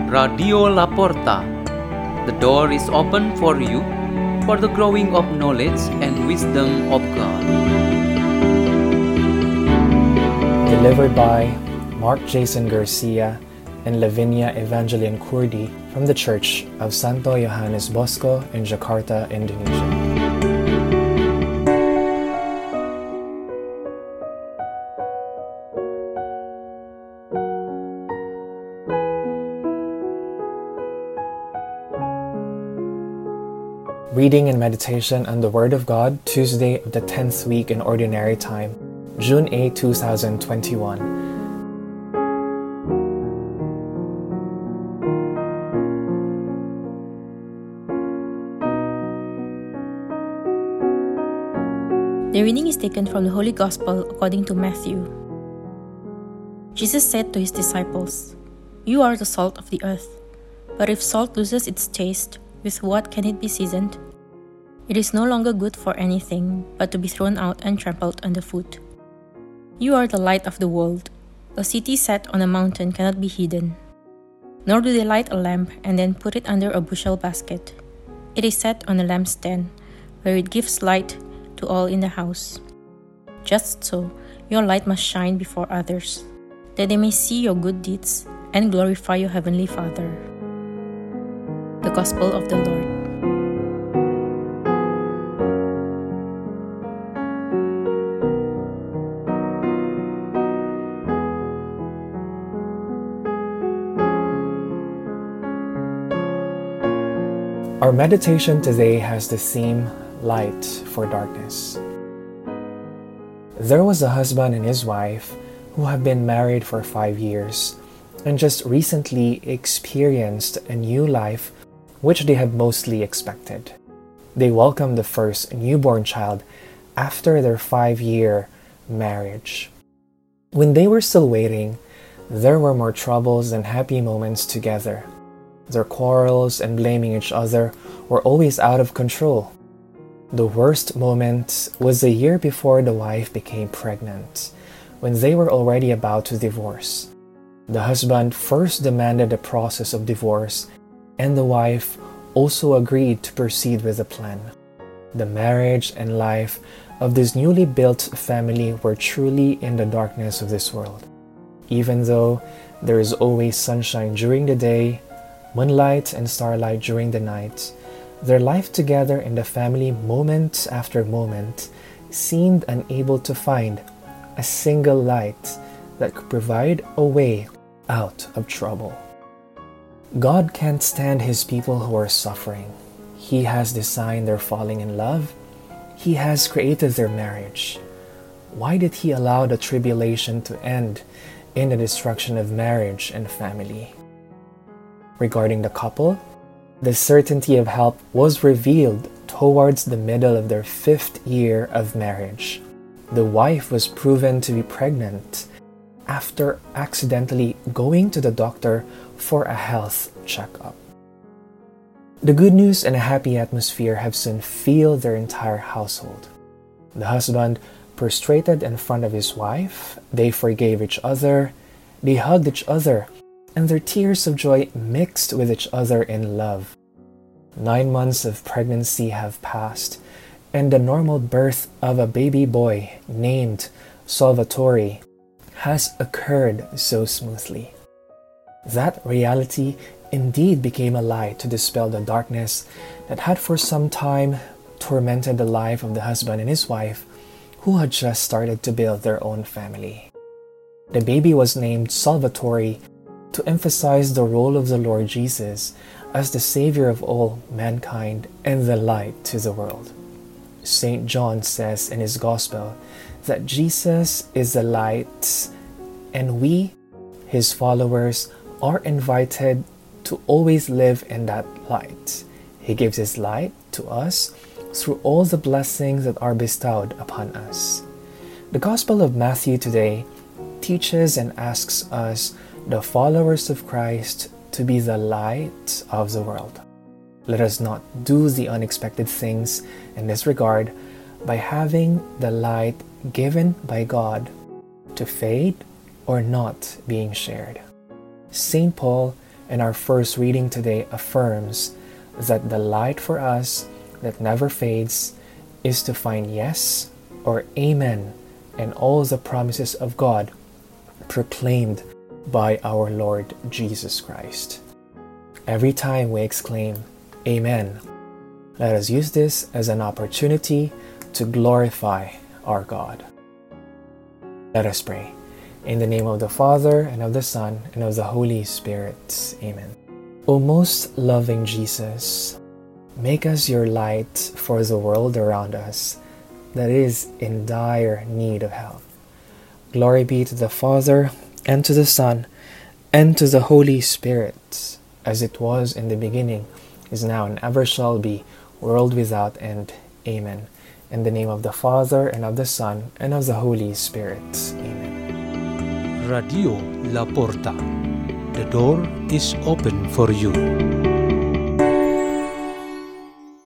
Radio Laporta. The door is open for you for the growing of knowledge and wisdom of God. Delivered by Mark Jason Garcia and Lavinia Evangeline Kurdi from the Church of Santo Yohanes Bosco in Jakarta, Indonesia. Reading and meditation on the Word of God, Tuesday of the 10th week in Ordinary Time, June 8, 2021. The reading is taken from the Holy Gospel according to Matthew. Jesus said to his disciples, "You are the salt of the earth, but if salt loses its taste, with what can it be seasoned? It is no longer good for anything but to be thrown out and trampled underfoot. You are the light of the world. A city set on a mountain cannot be hidden. Nor do they light a lamp and then put it under a bushel basket. It is set on a lampstand, where it gives light to all in the house. Just so, your light must shine before others, that they may see your good deeds and glorify your heavenly Father." The Gospel of the Lord. Our meditation today has the theme, Light for Darkness. There was a husband and his wife who have been married for 5 years and just recently experienced a new life which they had mostly expected. They welcomed the first newborn child after their 5-year marriage. When they were still waiting, there were more troubles than happy moments together. Their quarrels and blaming each other were always out of control. The worst moment was the year before the wife became pregnant, when they were already about to divorce. The husband first demanded the process of divorce, and the wife also agreed to proceed with the plan. The marriage and life of this newly built family were truly in the darkness of this world. Even though there is always sunshine during the day, moonlight and starlight during the night, their life together in the family moment after moment seemed unable to find a single light that could provide a way out of trouble. God can't stand His people who are suffering. He has designed their falling in love. He has created their marriage. Why did He allow the tribulation to end in the destruction of marriage and family? Regarding the couple, the certainty of help was revealed towards the middle of their 5th year of marriage. The wife was proven to be pregnant after accidentally going to the doctor for a health checkup. The good news and a happy atmosphere have soon filled their entire household. The husband prostrated in front of his wife, they forgave each other, they hugged each other, and their tears of joy mixed with each other in love. 9 months of pregnancy have passed, and the normal birth of a baby boy named Salvatore has occurred so smoothly. That reality indeed became a light to dispel the darkness that had for some time tormented the life of the husband and his wife who had just started to build their own family. The baby was named Salvatore to emphasize the role of the Lord Jesus as the Savior of all mankind and the light to the world. St. John says in his Gospel that Jesus is the light, and we, His followers, are invited to always live in that light. He gives His light to us through all the blessings that are bestowed upon us. The Gospel of Matthew today teaches and asks us, the followers of Christ, to be the light of the world. Let us not do the unexpected things in this regard by having the light given by God to fade or not being shared. St. Paul And our first reading today affirms that the light for us that never fades is to find yes or amen in all the promises of God proclaimed by our Lord Jesus Christ. Every time we exclaim, Amen, let us use this as an opportunity to glorify our God. Let us pray. In the name of the Father, and of the Son, and of the Holy Spirit. Amen. O most loving Jesus, make us your light for the world around us that is in dire need of help. Glory be to the Father, and to the Son, and to the Holy Spirit, as it was in the beginning, is now, and ever shall be, world without end. Amen. In the name of the Father, and of the Son, and of the Holy Spirit. Amen. Radio La Porta. The door is open for you.